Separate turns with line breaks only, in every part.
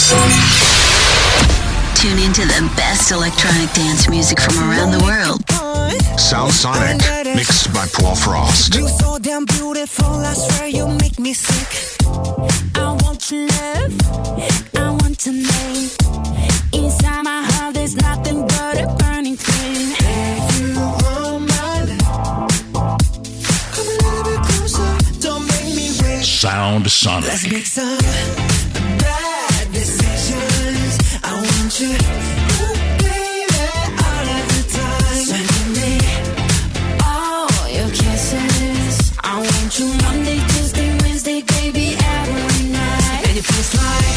Tune into the best electronic dance music from around the world.
Sound Sonic, mixed by Paul Frost.
You so damn beautiful, I swear you make me sick. I want your love, I want your name. Inside my heart there's nothing but a burning flame. If you want my love, come a little bit closer, don't make me wait.
Sound Sonic.
Let's make some bad decisions. I want you, ooh, baby, all of the time. So give me all your kisses. I want you Monday, Tuesday, Wednesday, baby, every night. And it feels like,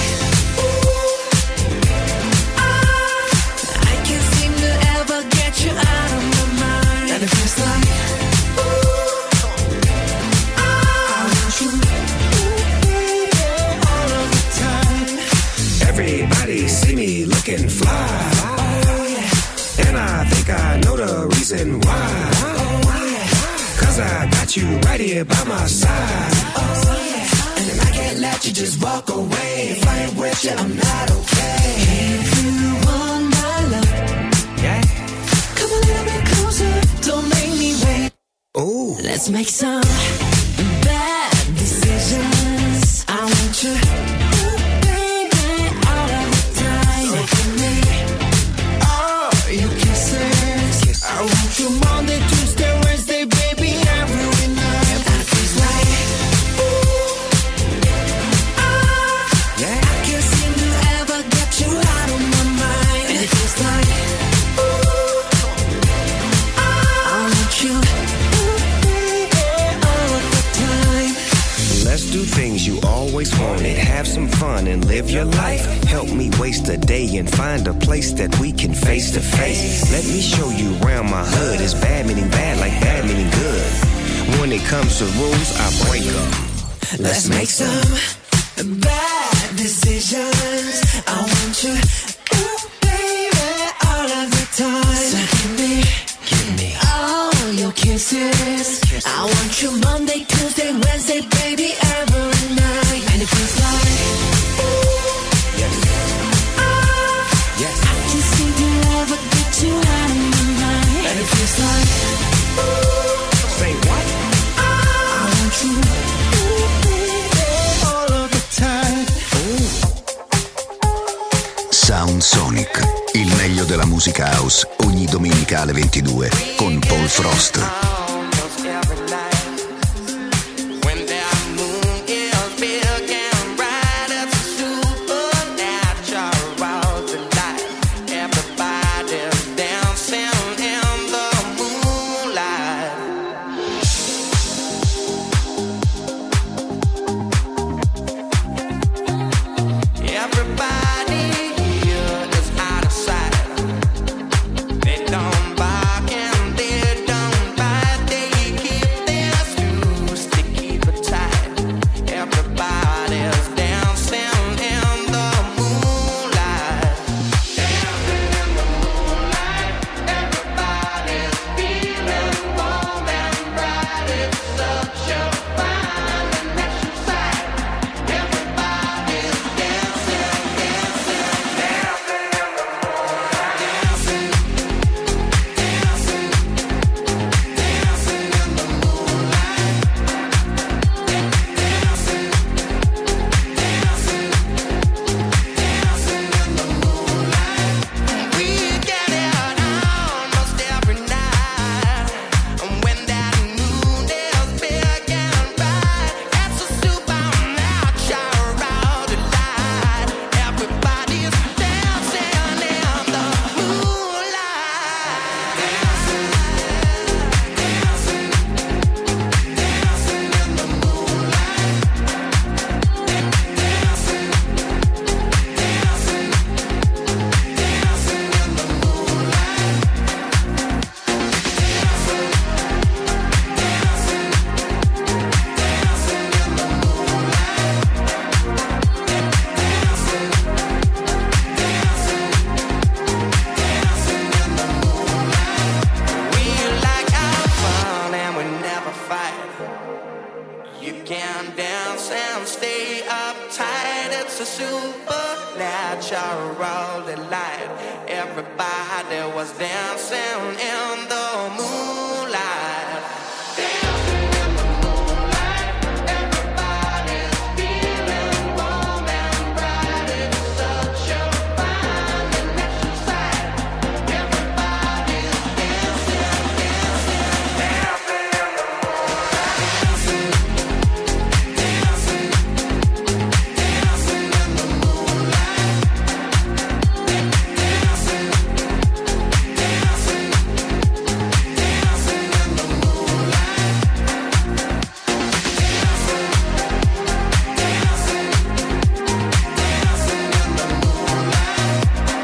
ooh, I can't seem to ever get you out of my mind. And it feels like, ooh, I want you, ooh, baby, all of the time.
Everybody see me looking fly, and I think I know the reason why. Cause I got you right here by my side, and I can't let you just walk away. If I ain't with you, I'm not okay.
If you want my love,
Yeah.
come a little bit closer, don't make me wait.
Ooh.
Let's make some bad decisions. I want you, ooh, baby, all of the time. So give me all your kisses. I want you Monday, Tuesday, Wednesday, baby, every night. And it feels like, ooh,
Yeah.
I can't seem to ever get you out of my mind. And it feels like, ooh, I want you, ooh, baby, all of the time.
Let's do things you always wanted. Have some fun and live your life. Help me waste a day and find a place that we can face to face. Let me show you around my hood. It's bad meaning bad, like bad meaning good. When it comes to rules, I break them.
Let's make some bad decisions. I want you, ooh, baby, all of the time. So give me all your kisses. I want you Monday, Tuesday, Wednesday, baby, every night. And it feels like, ooh,
Yes.
I can't seem to ever get you out of my mind. And it feels like, ooh,
Say what?
I want you, ooh, baby, all of the time.
Sound Sonic, il meglio della musica house, ogni domenica alle 22 con Paul Frost.
They don't bark and they don't bite. natural delight. Everybody was dancing in the moonlight. Dancing in the moonlight. Everybody's feeling warm and bright. It's such a fine and natural sight. Everybody's dancing, dancing, dancing in the moonlight. Dancing, dancing, dancing in the moonlight. Dancing, dancing, dancing in the moonlight. Dancing, dancing, dancing in the moonlight.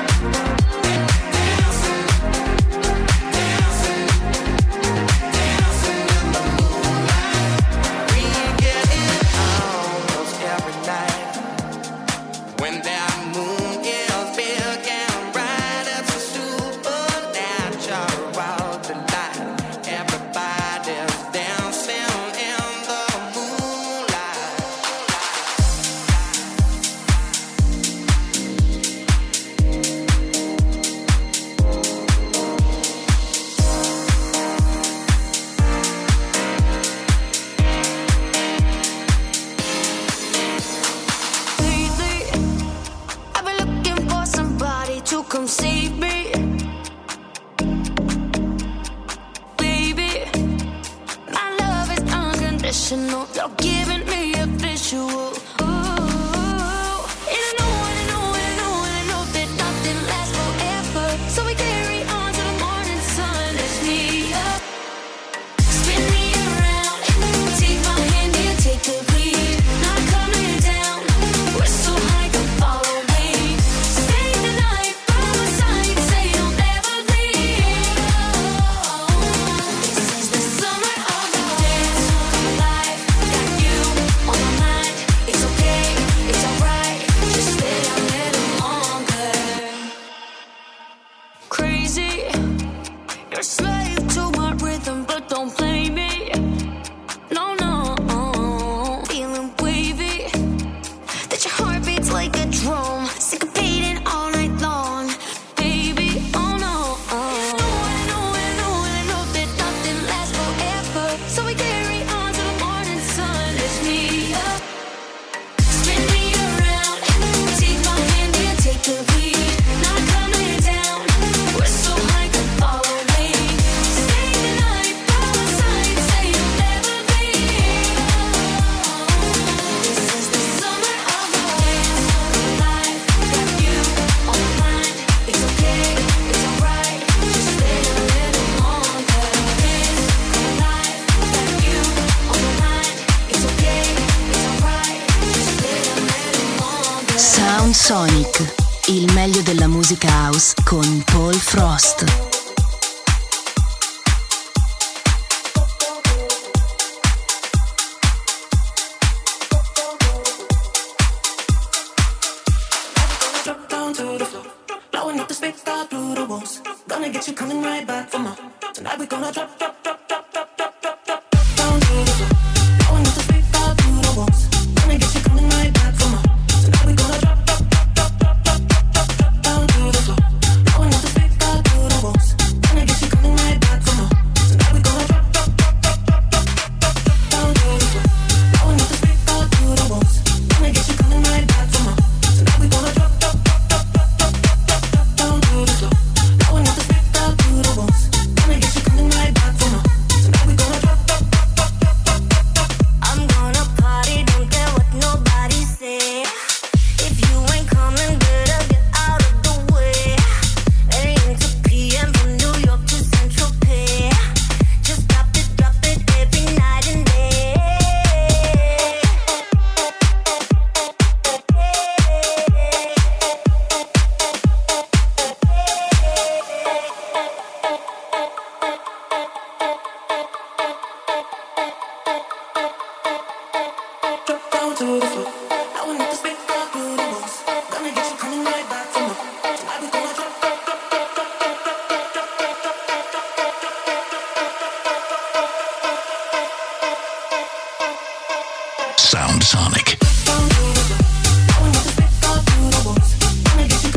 Dancing, dancing, dancing in the moonlight. We get it almost every night when that moon is big and bright. It's a supernatural delight. Everybody's dancing in the moonlight.
Lately, I've been looking for somebody to come save me. Baby, my love is unconditional. You're giving me a visual. Ooh, and I know, and I know, and I know, and I know that nothing lasts forever. So we carry on to the morning sun. Lift me up, spin me around, take my hand and take the lead. Not coming down, we're so high, come follow me. Stay the night by my side, say you'll never leave. This is the summer of the dance life. Got you on my mind. It's okay, it's alright. Just stay a little longer. Crazy, you're a slave to my rhythm, but don't play me. No, no, feeling wavy. That your heart beats like a drum, syncopating all night long. Baby, oh no. And I know, and I know, and I know that nothing lasts forever. So we carry on to the morning sun. Lift me up, spin me around, take my hand and take the lead. Not coming down, we're so high, come follow me. Stay the night by my side, say you'll never leave. This is the summer of the dance life. Got you on my mind. It's okay, it's alright. Just stay a little longer. Dance life. Got you on my mind. It's okay, it's alright. Just stay a little longer.
Sound Sonic, il meglio della musica house con Paul Frost.
Drop down to the floor, blowing up the speaker through the walls. Gonna get you coming right back for more. Tonight we're gonna drop, drop, drop, drop, drop, drop, drop, drop down to the floor, blowing up the speaker through the walls. Gonna get you coming right back for more. Tonight we're gonna drop, drop, drop, drop, drop, drop, drop, drop, drop down to the floor, blowing up the speaker through the walls. Gonna get you coming right back for more. Tonight we're gonna drop, drop, drop, drop, drop, drop, drop, drop down to the floor, blowing up the speaker through the walls. Gonna get you coming right back for more. Tonight we're gonna drop, drop, drop, drop, drop, drop, drop, drop down to the floor, blowing up the speaker through the walls. Gonna get you coming right back for more. Tonight we're gonna drop, drop, drop, drop, drop, drop, drop.
I'm gonna party, don't care what nobody say. If you ain't coming, better get out of the way. AM to PM from New York to Central Pay. Just drop it every night and day.
Drop down to the floor, blowing up the speaker through the walls. Gonna get you coming right back for more. Tonight we're gonna drop, drop, drop, drop, drop, drop, drop, drop, drop, drop, drop, drop, drop, drop, drop, drop, drop, drop, drop, drop.
Sound Sonic.
Down to the floor, blowing up the speaker through the walls. Gonna get you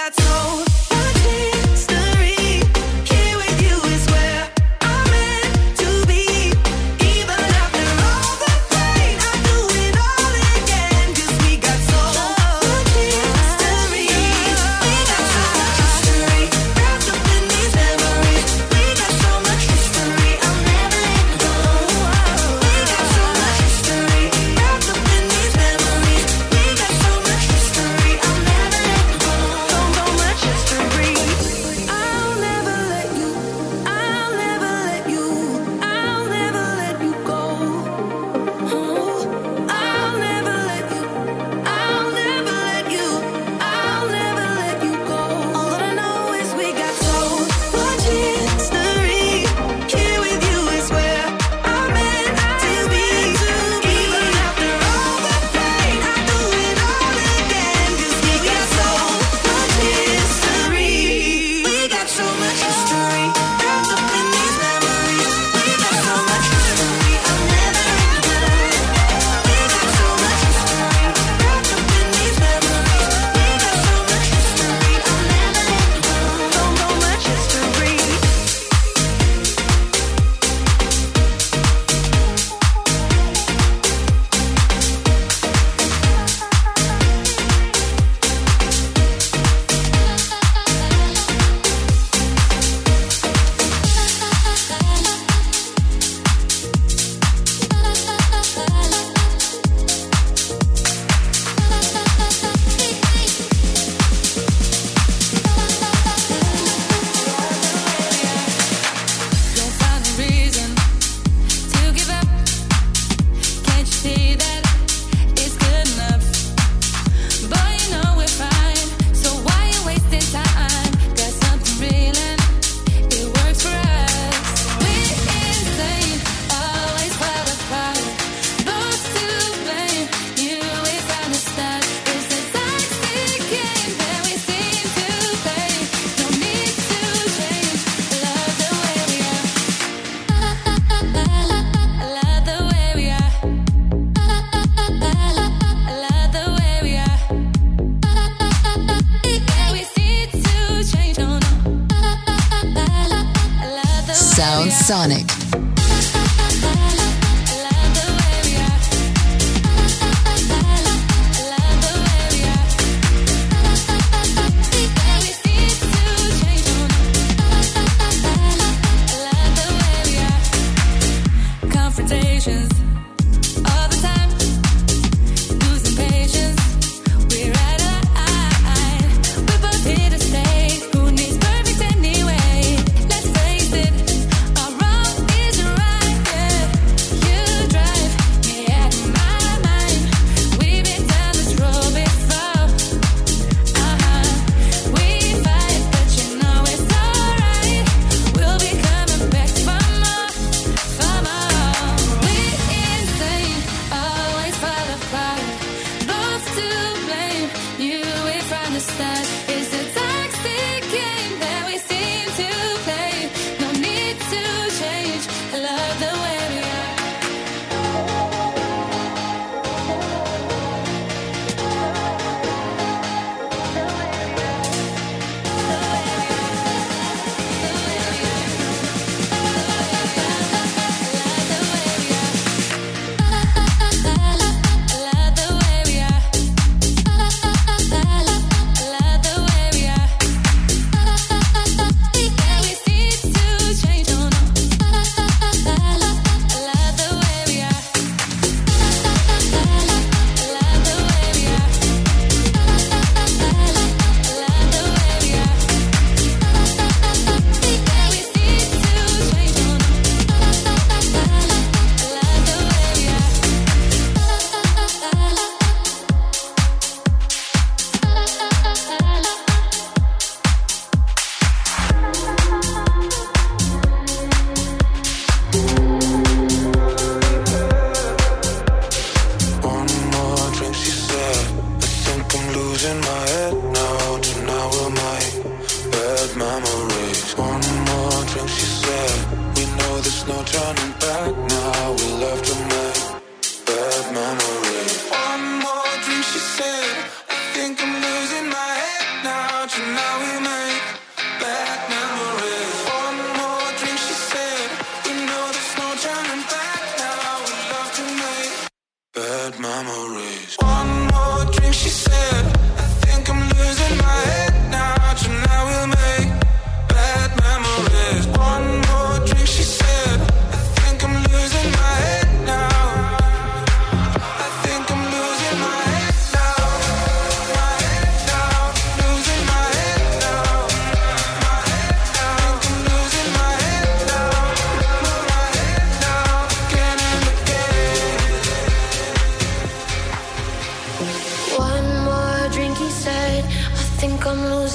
got so much history. Here with you is where I'm meant to be. Even after all the pain, I'll do it all again. 'Cause we got so much history. We got so much history. Wrapped up in these memories. We got so much history. I'll never let go. We got so much history. Wrapped up in these memories. We got so much history. I'll never let go. So much history. I'll never let you. I'll never let you. I'll never let you go. Oh, I'll never let you. I'll never let you. I'll never let you go. All that I know is we got so much history. Here with you is where I'm meant to be. Even after all the pain, I'll do it all again. 'Cause we got so much history. We got so much history. Wrapped up in these memories. We got so much history. I'll never let go. We got so much history. Wrapped up in these memories. We got so much history. I'll never let go. So much history. Don't find a reason to give up. Can't you see that it's good enough? Boy, you know we're fine, so why you wasting time? Got something real and it works for us. We're insane, always fall apart. Both to blame, you we found the start. It's a toxic game that we seem to play. No need to change. Love the way we are. Love the way we are. Love the way we are. Yeah, we need to change. No, no. Love the way
Sound
we are.
Sonic.
Love the way we are. Love the way we are. Yeah, we need to change. No, no. Love the way we are. Confrontations all the time. Losing patience. We're out of line. We're both here to stay. Who needs perfect anyway? Let's face it. Our wrong is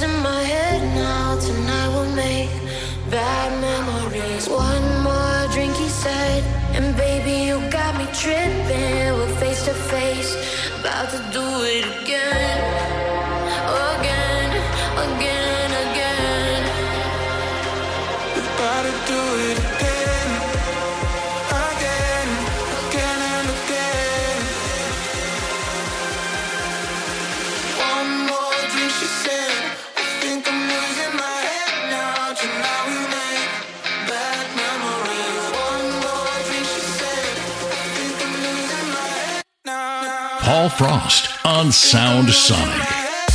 losing my head now. Tonight we'll make bad memories. One more drink, he said, and baby, you got me tripping. We're face to face, about to do it again. Again, again, again.
We're about to do it again. Again, again and again. One more drink, she said. I think I'm losing my head now. Tonight we make bad memories. One more drink, she said. I think I'm losing my head now.
Paul Frost on Sound Sonic.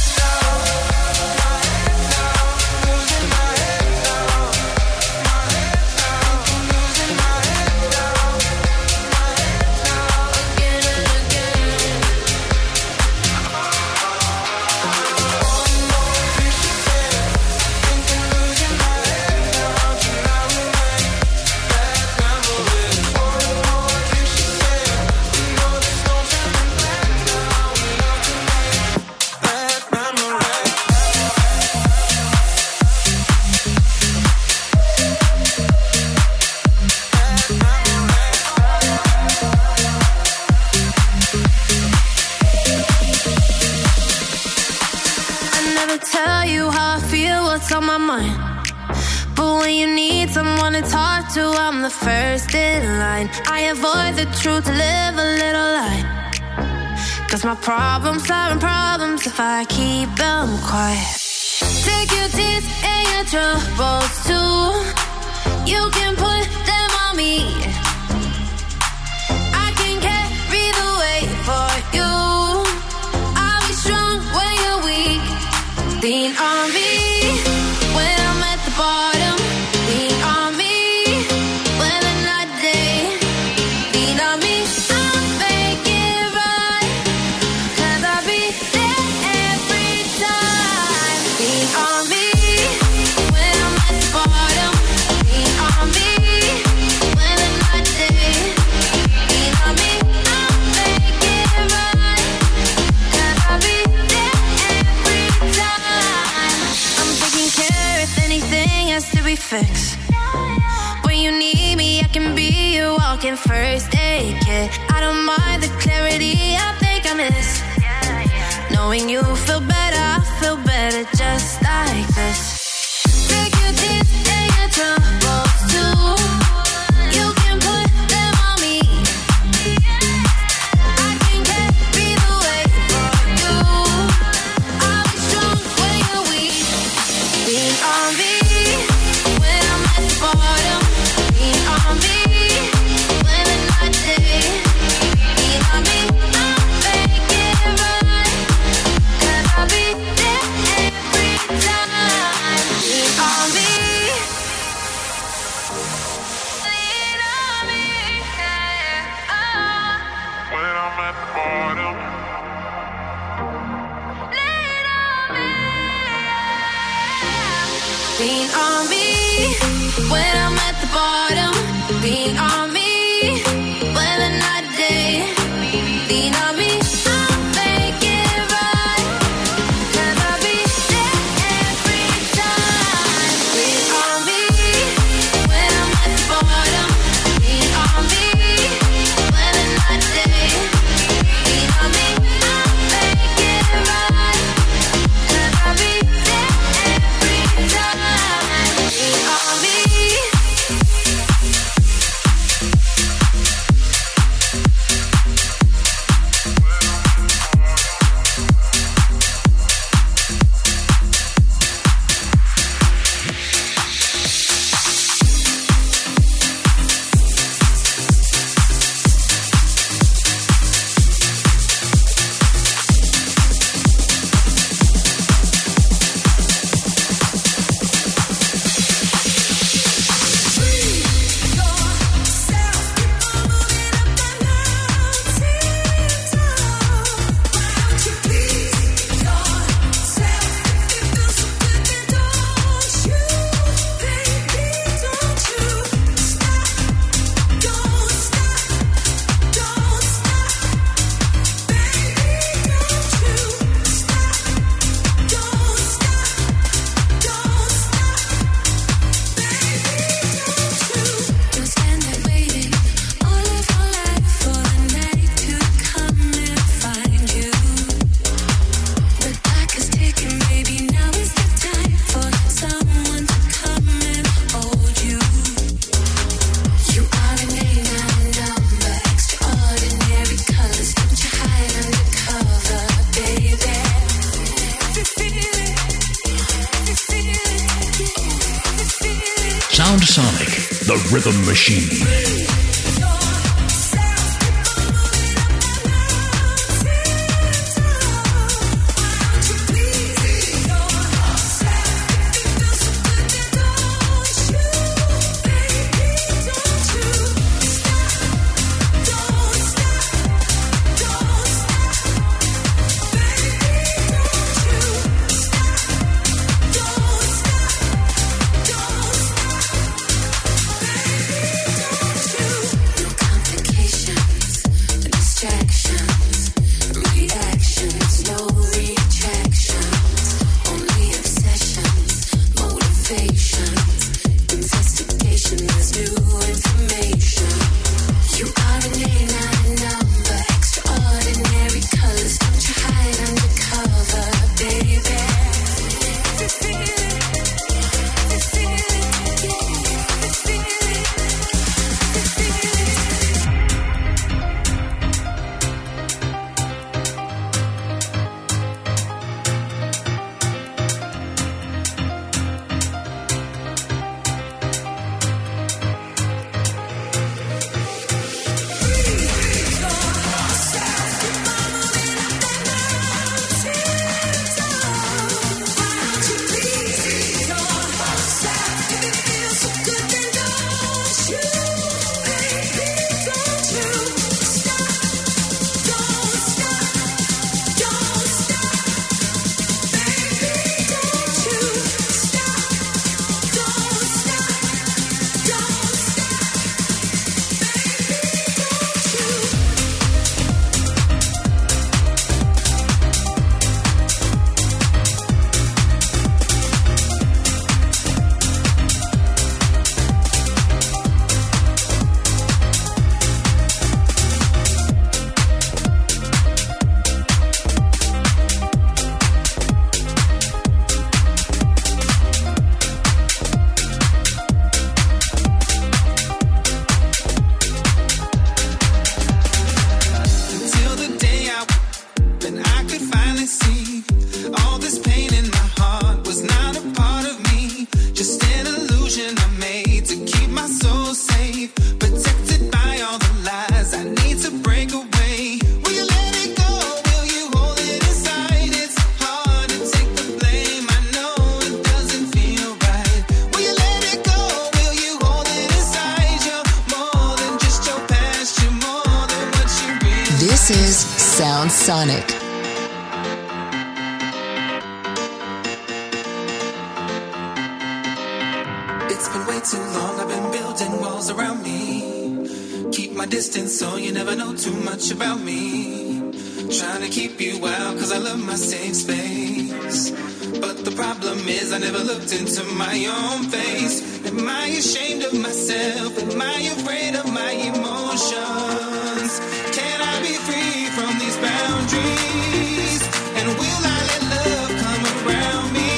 I'm the first in line. I avoid the truth to live a little lie. 'Cause my problems aren't problems if I keep them quiet. Take your tears and your troubles too. You can put them on me. I can carry the weight for you. I'll be strong when you're weak. Lean on me when I'm at the bottom. Lean on me. Fix. When you need me, I can be your walking first aid kit. I don't mind the clarity I think I miss. Knowing you feel better, I feel better just like this. Take your tears and your troubles too. You can put them on me. I can carry the weight for you. I'll be strong when you're weak. Lean on me. Bottom, lean on me when the night day. Lean on me, I'll make it right. 'Cause I'll be there every time. Lean on me. Lean on me, yeah. Oh.
When I'm at the bottom.
Lean on me, yeah. Lean on me. When I'm at the bottom, lean on me. When the night day, lean on me. I'll make it right. 'Cause I'll be there every time. Lean on me. When I'm at the bottom, lean on me. When the night day, lean on me. I'll make it right. 'Cause I'll be there every time. Lean on me.
Sound Sonic, the rhythm machine.
This is Sound Sonic.
It's been way too long, I've been building walls around me. Keep my distance so you never know too much about me. Trying to keep you out cause I love my safe space. But the problem is I never looked into my own face. Am I ashamed of myself? Am I afraid of my emotions? Can I be free from these boundaries? And will I let love come around me?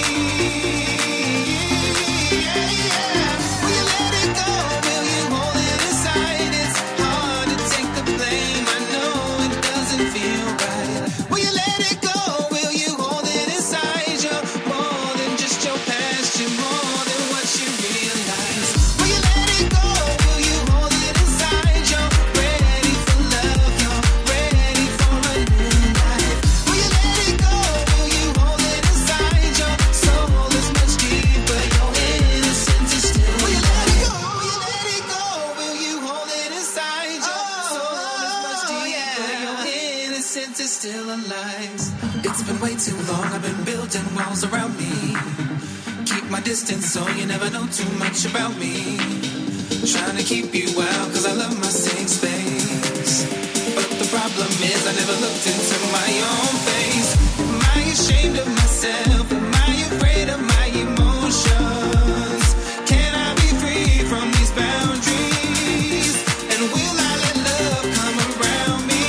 Will you let it go? Will you hold it inside? It's hard to take the blame. I know it doesn't feel right. Will you let it go? Will you hold it inside? You're more than just your past. You're more than what you realize. Will you let it go? Will you hold it inside? You're ready for love. You're ready for a new life. Will you let it go? Will you hold it inside? Your soul is much deeper. Your innocence is still. Will you let it go? Will you let it go? Will you hold it inside? Your soul is much deeper. Your innocence is still alive. It's been way too long. I've been building walls around me. Keep my distance so you never know too much about me. Trying to keep you out cause I love my safe space. But the problem is I never looked into my own face. Am I ashamed of myself? Am I afraid of my emotions? Can I be free from these boundaries? And will I let love come around me?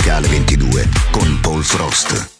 domenicale 22 con Paul Frost.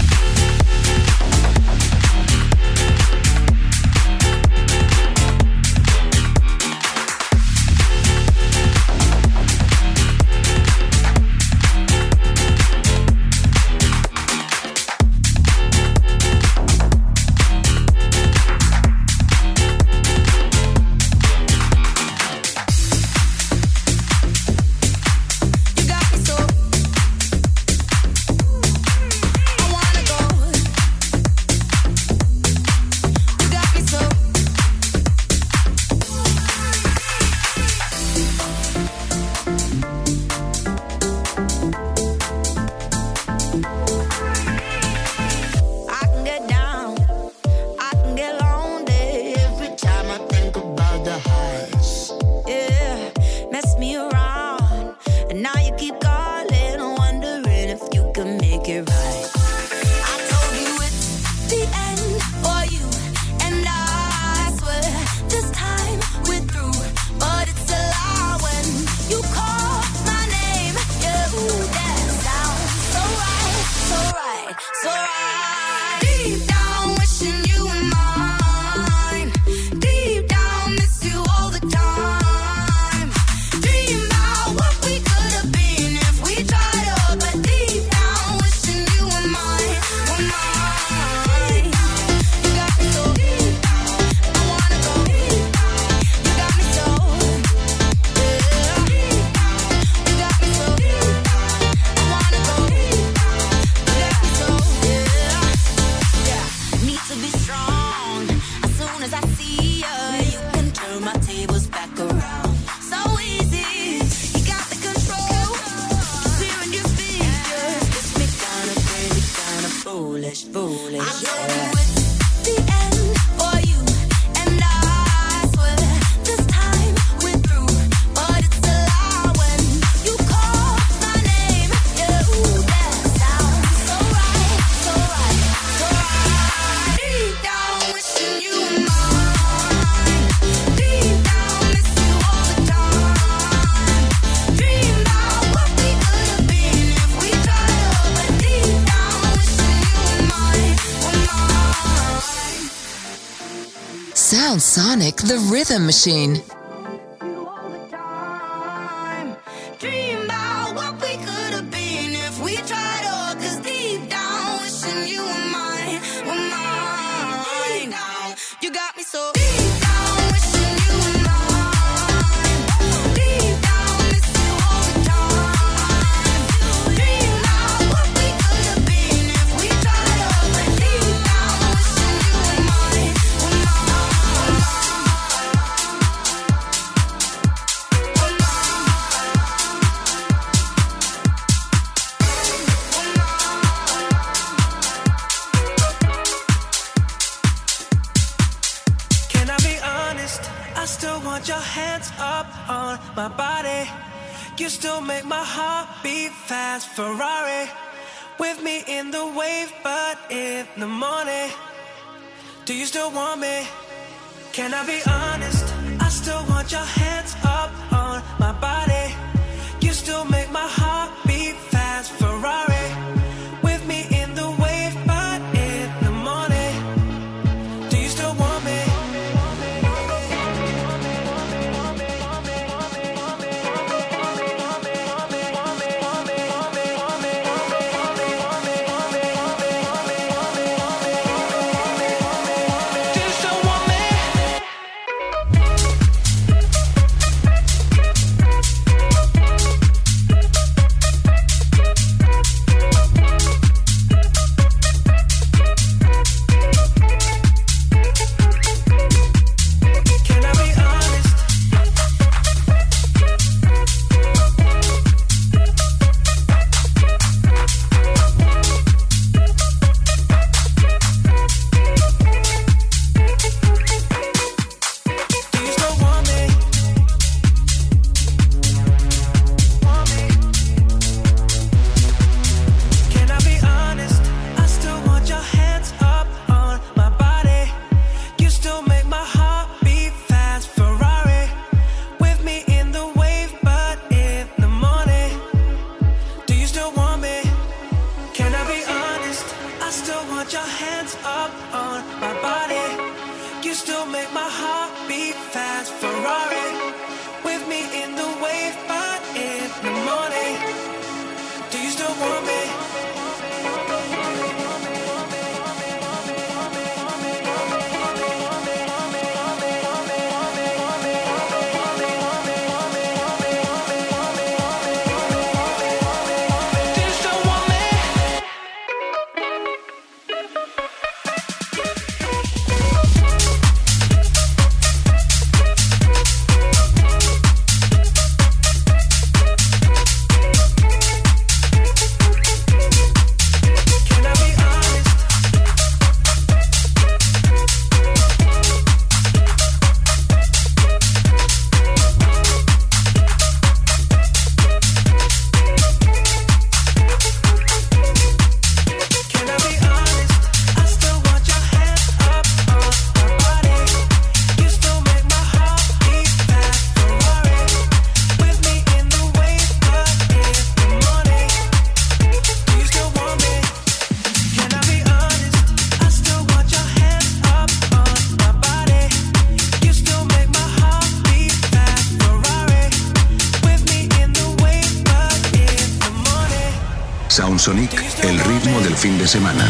Sound Sonic, the rhythm machine.
You still make my heart beat fast. Ferrari with me in the wave, but in the morning, do you still want me? Can I be honest? I still want your hands up on my body. You still make my heart beat fast. Ferrari with me in the wave, but in the morning, do you still want me? still want me?
Soundsonic, el ritmo del fin de semana.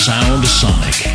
Sound Sonic.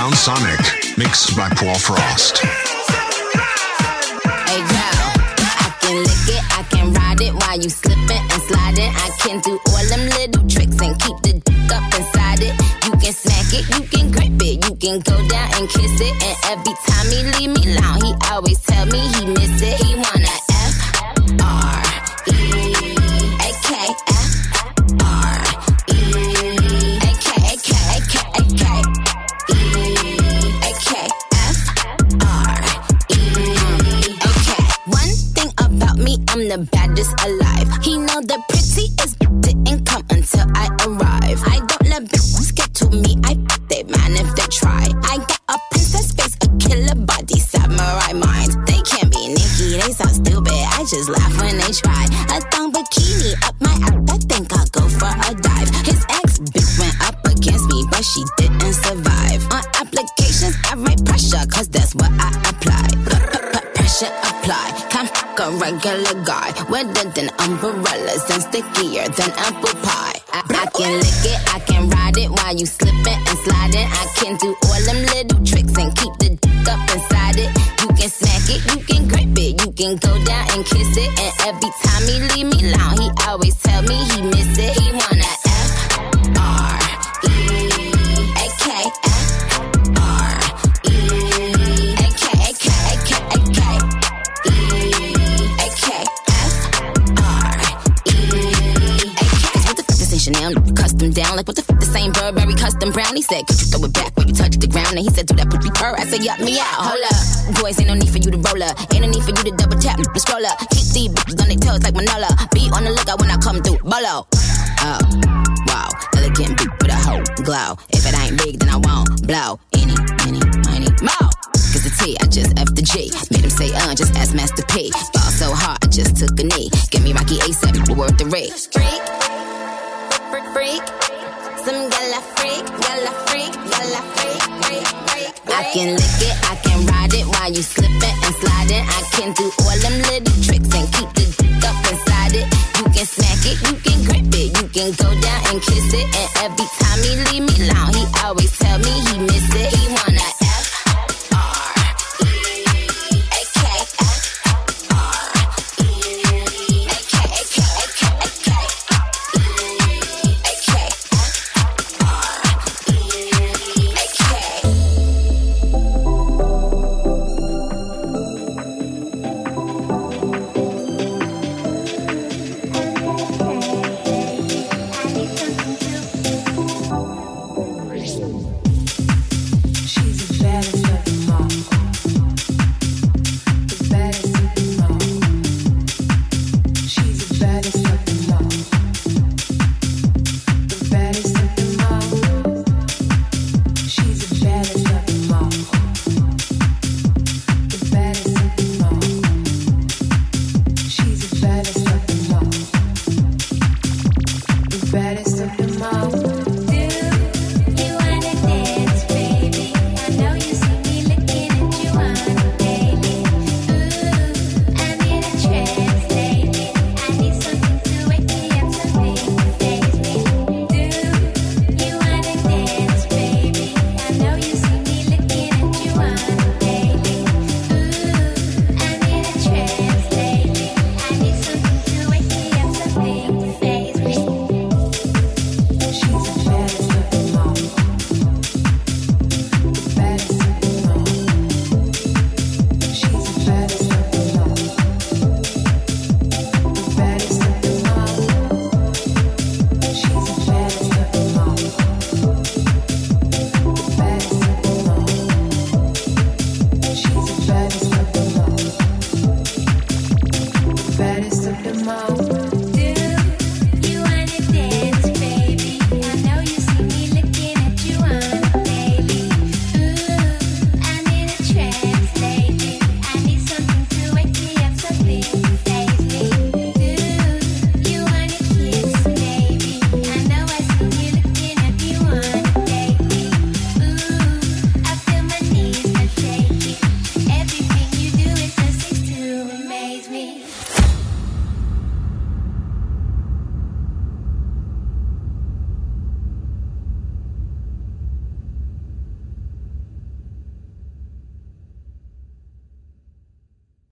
Sound Sonic, mixed by Paul Frost.
Hey girl, I can lick it, I can ride it while you slipping and sliding. I can do all them little tricks and keep the dick up inside it. You can smack it, you can grip it, you can go down and kiss it. And every time he leave me alone, he always tell me he miss it. He wanna I'm the baddest alive. He know the prettiest didn't come until I arrive. I don't let bitches get to me. I they man if they try. I got a princess face, a killer body, samurai mind. They can't be Nicki, they sound stupid. I just laugh when they try. A thong bikini up my ass. I think I'll go for a dive. His ex bitch went up against me, but she didn't survive. On applications, I write pressure, cause that's what I apply. Pressure apply. Can't fuck a regular guy. Wetter than umbrellas and stickier than apple pie. I can lick it, I can ride it while you slipping and sliding. I can do all them little tricks and keep the dick up inside it. You can smack it, you can grip it, you can go down and kiss it. And every time he leave me alone, he always tell me he miss it. He wanna Chanel, custom down. Like, what the f***, the same Burberry custom brown? He said, could you throw it back when you touch the ground? And he said, do that pussy purr. I said, yup, me out. Hold up. Boys, ain't no need for you to roll up. Ain't no need for you to double tap, the scroll up. Keep these bitches on their toes like Manola. Be on the lookout when I come through. Bolo. Oh, wow. Elegant beat with a whole glow. If it ain't big, then I won't blow. Any, money, more. Cause the T, I just F the G. Made him say, just ask Master P. Ball so hard, I just took a knee. Give me Rocky ASAP, worth the rate. Freak, some gala freak, gala freak, gala freak, freak, freak. I can lick it, I can ride it while you slipping and sliding. I can do all them little tricks and keep the dick up inside it. You can smack it, you can grip it, you can go down and kiss it. And every time he leave me alone, he always tell me he miss it. He wanna